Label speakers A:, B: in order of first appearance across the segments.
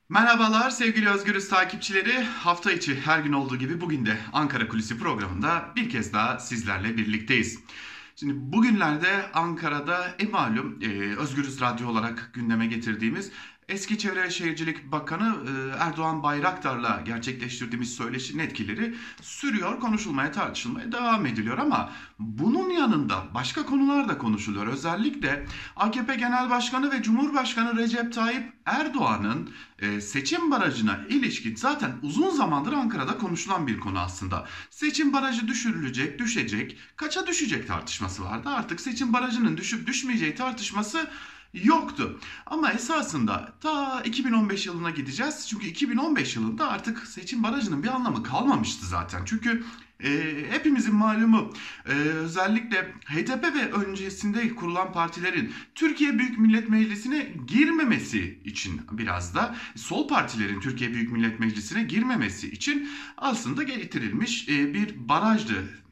A: Merhabalar sevgili Özgürüz takipçileri. Hafta içi her gün olduğu gibi bugün de Ankara Kulisi programında bir kez daha sizlerle birlikteyiz. Şimdi bugünlerde Ankara'da malum Özgürüz Radyo olarak gündeme getirdiğimiz eski Çevre ve Şehircilik Bakanı Erdoğan Bayraktar'la gerçekleştirdiğimiz söyleşinin etkileri sürüyor, konuşulmaya, tartışılmaya devam ediliyor ama bunun yanında başka konular da konuşuluyor. Özellikle AKP Genel Başkanı ve Cumhurbaşkanı Recep Tayyip Erdoğan'ın seçim barajına ilişkin zaten uzun zamandır Ankara'da konuşulan bir konu aslında. Seçim barajı düşürülecek, düşecek, kaça düşecek tartışması vardı. Artık seçim barajının düşüp düşmeyeceği tartışması yoktu. Ama esasında ta 2015 yılına gideceğiz. Çünkü 2015 yılında artık seçim barajının bir anlamı kalmamıştı zaten. Çünkü hepimizin malumu özellikle HDP ve öncesinde kurulan partilerin Türkiye Büyük Millet Meclisi'ne girmemesi için biraz da sol partilerin Türkiye Büyük Millet Meclisi'ne girmemesi için aslında getirilmiş bir barajdı.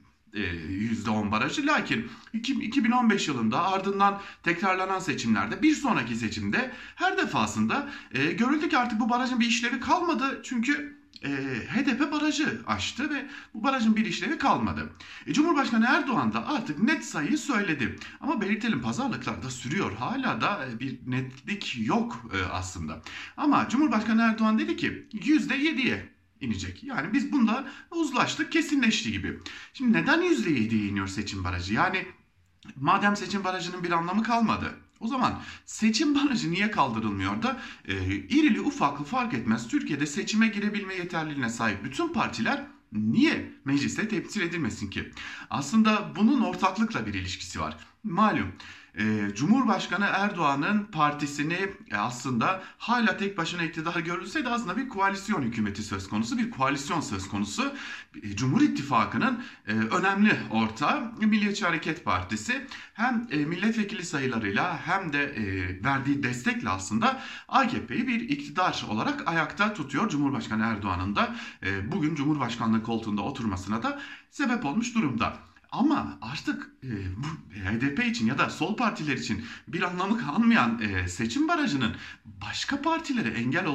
A: %10 barajı. Lakin 2015 yılında ardından tekrarlanan seçimlerde bir sonraki seçimde her defasında görüldü ki artık bu barajın bir işlevi kalmadı. Çünkü HDP barajı aştı ve bu barajın bir işlevi kalmadı. Cumhurbaşkanı Erdoğan da artık net sayıyı söyledi. Ama belirtelim pazarlıklar da sürüyor. Hala da bir netlik yok aslında. Ama Cumhurbaşkanı Erdoğan dedi ki %7'ye inecek. Yani biz bunda uzlaştık, kesinleşti gibi. Şimdi neden %7'ye iniyor seçim barajı? Yani madem seçim barajının bir anlamı kalmadı. O zaman seçim barajı niye kaldırılmıyor da irili ufaklı fark etmez Türkiye'de seçime girebilme yeterliliğine sahip bütün partiler niye mecliste temsil edilmesin ki? Aslında bunun ortaklıkla bir ilişkisi var. Malum Cumhurbaşkanı Erdoğan'ın partisini aslında hala tek başına iktidar görülseydi aslında bir koalisyon hükümeti söz konusu, bir koalisyon söz konusu. Cumhur İttifakı'nın önemli ortağı Milliyetçi Hareket Partisi hem milletvekili sayılarıyla hem de verdiği destekle aslında AKP'yi bir iktidar olarak ayakta tutuyor. Cumhurbaşkanı Erdoğan'ın da bugün Cumhurbaşkanlığı koltuğunda oturmasına da sebep olmuş durumda. Ama artık bu HDP için ya da sol partiler için bir anlamı kalmayan seçim barajının başka partilere engel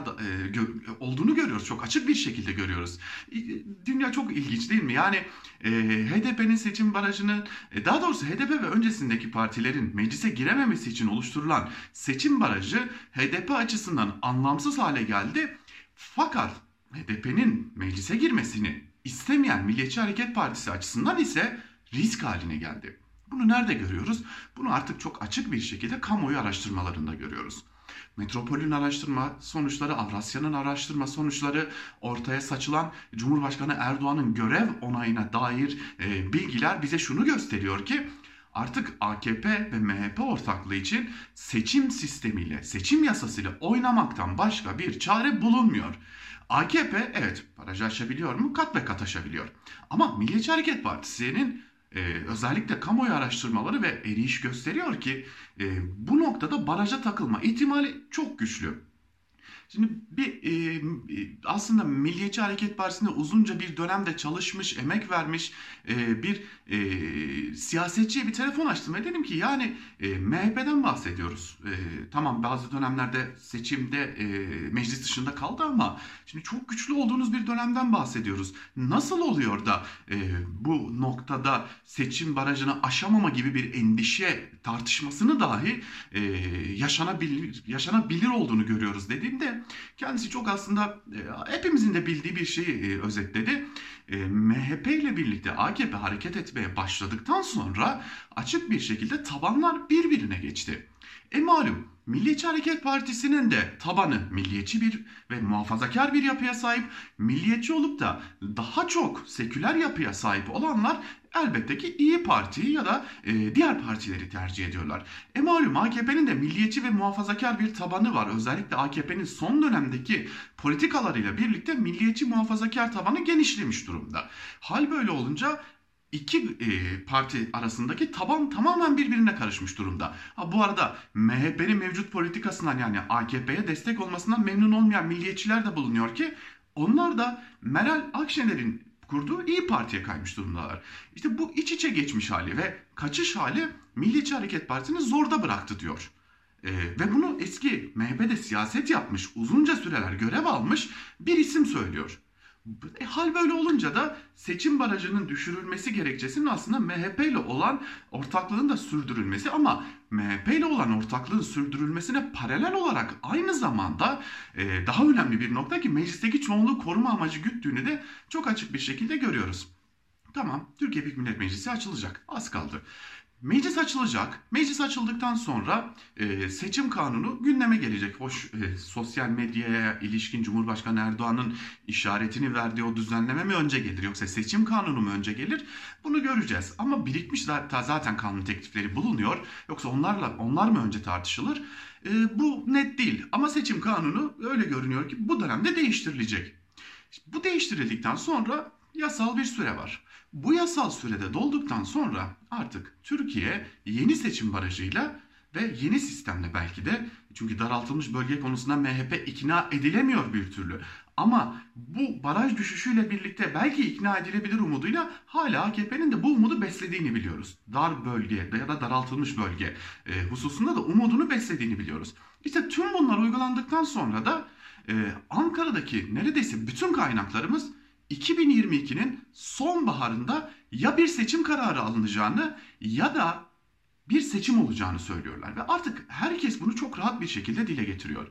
A: olduğunu görüyoruz. Çok açık bir şekilde görüyoruz. Dünya çok ilginç değil mi? Yani HDP'nin seçim barajını, daha doğrusu HDP ve öncesindeki partilerin meclise girememesi için oluşturulan seçim barajı HDP açısından anlamsız hale geldi. Fakat HDP'nin meclise girmesini istemeyen Milliyetçi Hareket Partisi açısından ise risk haline geldi. Bunu nerede görüyoruz? Bunu artık çok açık bir şekilde kamuoyu araştırmalarında görüyoruz. Metropol'ün araştırma sonuçları, Avrasya'nın araştırma sonuçları, ortaya saçılan Cumhurbaşkanı Erdoğan'ın görev onayına dair bilgiler bize şunu gösteriyor ki artık AKP ve MHP ortaklığı için seçim sistemiyle, seçim yasasıyla oynamaktan başka bir çare bulunmuyor. AKP evet barajı aşabiliyor mu? Kat ve kat aşabiliyor. Ama Milliyetçi Hareket Partisi'nin özellikle kamuoyu araştırmaları ve eriyiş gösteriyor ki bu noktada baraja takılma ihtimali çok güçlü. Şimdi aslında Milliyetçi Hareket Partisi'nde uzunca bir dönemde çalışmış, emek vermiş bir siyasetçiye bir telefon açtım ve dedim ki yani MHP'den bahsediyoruz. Tamam bazı dönemlerde seçimde meclis dışında kaldı ama şimdi çok güçlü olduğunuz bir dönemden bahsediyoruz. Nasıl oluyor da bu noktada seçim barajını aşamama gibi bir endişe tartışmasını dahi yaşanabilir olduğunu görüyoruz dediğimde kendisi çok aslında hepimizin de bildiği bir şeyi özetledi. MHP ile birlikte AKP hareket etmeye başladıktan sonra açık bir şekilde tabanlar birbirine geçti. Malum Milliyetçi Hareket Partisi'nin de tabanı milliyetçi bir ve muhafazakar bir yapıya sahip. Milliyetçi olup da daha çok seküler yapıya sahip olanlar elbette ki İyi Parti'yi ya da diğer partileri tercih ediyorlar. Malum AKP'nin de milliyetçi ve muhafazakar bir tabanı var. Özellikle AKP'nin son dönemdeki politikalarıyla birlikte milliyetçi muhafazakar tabanı genişlemiş durumda. Hal böyle olunca iki parti arasındaki taban tamamen birbirine karışmış durumda. Bu arada MHP'nin mevcut politikasından yani AKP'ye destek olmasından memnun olmayan milliyetçiler de bulunuyor ki onlar da Meral Akşener'in kurduğu İyi Parti'ye kaymış durumdalar. İşte bu iç içe geçmiş hali ve kaçış hali Milliyetçi Hareket Partisi'ni zorda bıraktı diyor. Ve bunu eski MHP'de siyaset yapmış, uzunca süreler görev almış bir isim söylüyor. Hal böyle olunca da seçim barajının düşürülmesi gerekçesinin aslında MHP ile olan ortaklığın da sürdürülmesi, ama MHP ile olan ortaklığın sürdürülmesine paralel olarak aynı zamanda daha önemli bir nokta ki meclisteki çoğunluğu koruma amacı güttüğünü de çok açık bir şekilde görüyoruz. Tamam, Türkiye Büyük Millet Meclisi açılacak. Az kaldı. Meclis açılacak. Meclis açıldıktan sonra seçim kanunu gündeme gelecek. Hoş, sosyal medyaya ilişkin Cumhurbaşkanı Erdoğan'ın işaretini verdiği o düzenleme mi önce gelir, yoksa seçim kanunu mu önce gelir? Bunu göreceğiz. Ama birikmiş zaten kanun teklifleri bulunuyor. Yoksa onlar mı önce tartışılır? Bu net değil. Ama seçim kanunu öyle görünüyor ki bu dönemde değiştirilecek. Bu değiştirildikten sonra yasal bir süre var. Bu yasal sürede dolduktan sonra artık Türkiye yeni seçim barajıyla ve yeni sistemle belki de, çünkü daraltılmış bölge konusunda MHP ikna edilemiyor bir türlü. Ama bu baraj düşüşüyle birlikte belki ikna edilebilir umuduyla hala AKP'nin de bu umudu beslediğini biliyoruz. Dar bölge ya da daraltılmış bölge hususunda da umudunu beslediğini biliyoruz. İşte tüm bunlar uygulandıktan sonra da Ankara'daki neredeyse bütün kaynaklarımız 2022'nin sonbaharında ya bir seçim kararı alınacağını ya da bir seçim olacağını söylüyorlar. Ve artık herkes bunu çok rahat bir şekilde dile getiriyor.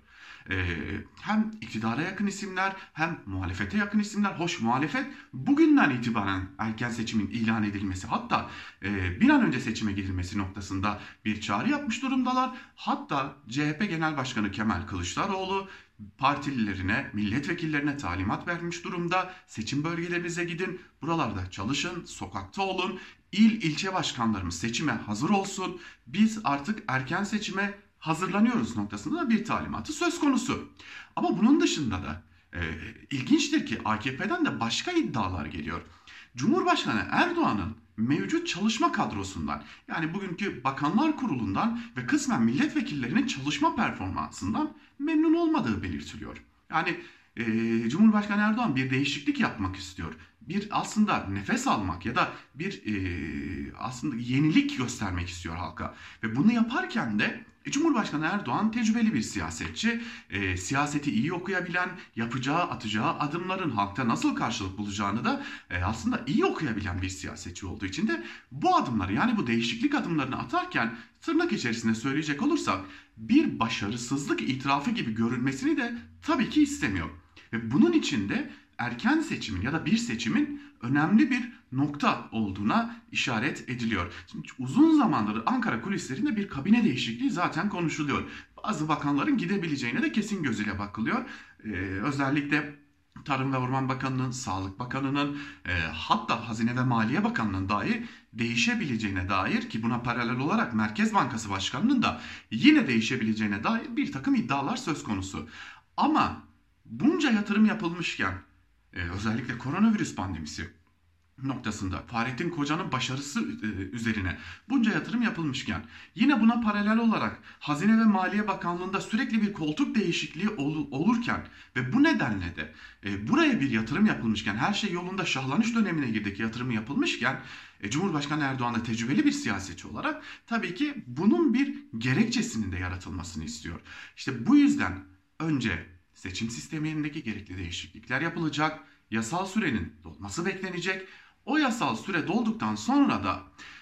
A: Hem iktidara yakın isimler hem muhalefete yakın isimler. Hoş, muhalefet bugünden itibaren erken seçimin ilan edilmesi, hatta bir an önce seçime gidilmesi noktasında bir çağrı yapmış durumdalar. Hatta CHP Genel Başkanı Kemal Kılıçdaroğlu partililerine, milletvekillerine talimat vermiş durumda. Seçim bölgelerinize gidin, buralarda çalışın, sokakta olun. İlçe başkanlarımız seçime hazır olsun. Biz artık erken seçime hazırlanıyoruz noktasında da bir talimatı söz konusu. Ama bunun dışında da ilginçtir ki AKP'den de başka iddialar geliyor. Cumhurbaşkanı Erdoğan'ın mevcut çalışma kadrosundan, yani bugünkü Bakanlar Kurulu'ndan ve kısmen milletvekillerinin çalışma performansından memnun olmadığı belirtiliyor. Yani Cumhurbaşkanı Erdoğan bir değişiklik yapmak istiyor. Bir aslında nefes almak ya da bir aslında yenilik göstermek istiyor halka. Ve bunu yaparken de Cumhurbaşkanı Erdoğan tecrübeli bir siyasetçi, siyaseti iyi okuyabilen, atacağı adımların halkta nasıl karşılık bulacağını da aslında iyi okuyabilen bir siyasetçi olduğu için de bu adımları, yani bu değişiklik adımlarını atarken tırnak içerisinde söyleyecek olursak bir başarısızlık itirafı gibi görünmesini de tabii ki istemiyor. Ve bunun için de erken seçimin ya da bir seçimin önemli bir nokta olduğuna işaret ediliyor. Şimdi uzun zamandır Ankara kulislerinde bir kabine değişikliği zaten konuşuluyor. Bazı bakanların gidebileceğine de kesin gözüyle bakılıyor. Özellikle Tarım ve Orman Bakanı'nın, Sağlık Bakanı'nın, hatta Hazine ve Maliye Bakanı'nın dahi değişebileceğine dair, ki buna paralel olarak Merkez Bankası Başkanı'nın da yine değişebileceğine dair bir takım iddialar söz konusu. Ama bunca yatırım yapılmışken, özellikle koronavirüs pandemisi noktasında Fahrettin Koca'nın başarısı üzerine bunca yatırım yapılmışken, yine buna paralel olarak Hazine ve Maliye Bakanlığı'nda sürekli bir koltuk değişikliği olurken ve bu nedenle de buraya bir yatırım yapılmışken, her şey yolunda, şahlanış dönemine girdik, yatırımı yapılmışken, Cumhurbaşkanı Erdoğan da tecrübeli bir siyasetçi olarak tabii ki bunun bir gerekçesinin de yaratılmasını istiyor. İşte bu yüzden önce seçim sistemindeki gerekli değişiklikler yapılacak, yasal sürenin dolması beklenecek. O yasal süre dolduktan sonra da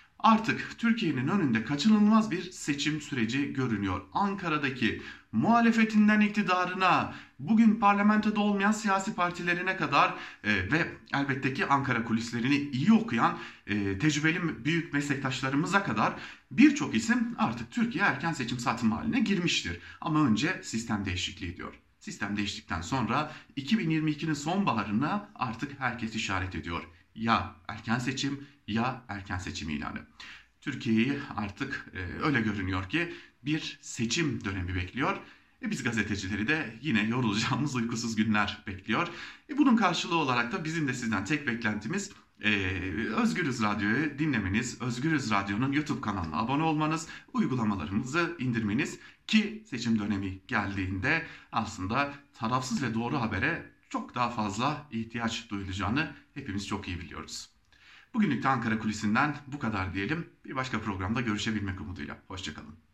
A: artık Türkiye'nin önünde kaçınılmaz bir seçim süreci görünüyor. Ankara'daki muhalefetinden iktidarına, bugün parlamentoda olmayan siyasi partilerine kadar ve elbette ki Ankara kulislerini iyi okuyan tecrübeli büyük meslektaşlarımıza kadar birçok isim artık Türkiye erken seçim satımı haline girmiştir. Ama önce sistem değişikliği diyor. Sistem değiştikten sonra 2022'nin sonbaharına artık herkes işaret ediyor. Ya erken seçim ya erken seçim ilanı. Türkiye'yi artık öyle görünüyor ki bir seçim dönemi bekliyor. Biz gazetecileri de yine yorulacağımız uykusuz günler bekliyor. Bunun karşılığı olarak da bizim de sizden tek beklentimiz Özgürüz Radyo'yu dinlemeniz, Özgürüz Radyo'nun YouTube kanalına abone olmanız, uygulamalarımızı indirmeniz ki seçim dönemi geldiğinde aslında tarafsız ve doğru habere çok daha fazla ihtiyaç duyulacağını hepimiz çok iyi biliyoruz. Bugünlük de Ankara Kulisi'nden bu kadar diyelim. Bir başka programda görüşebilmek umuduyla. Hoşça kalın.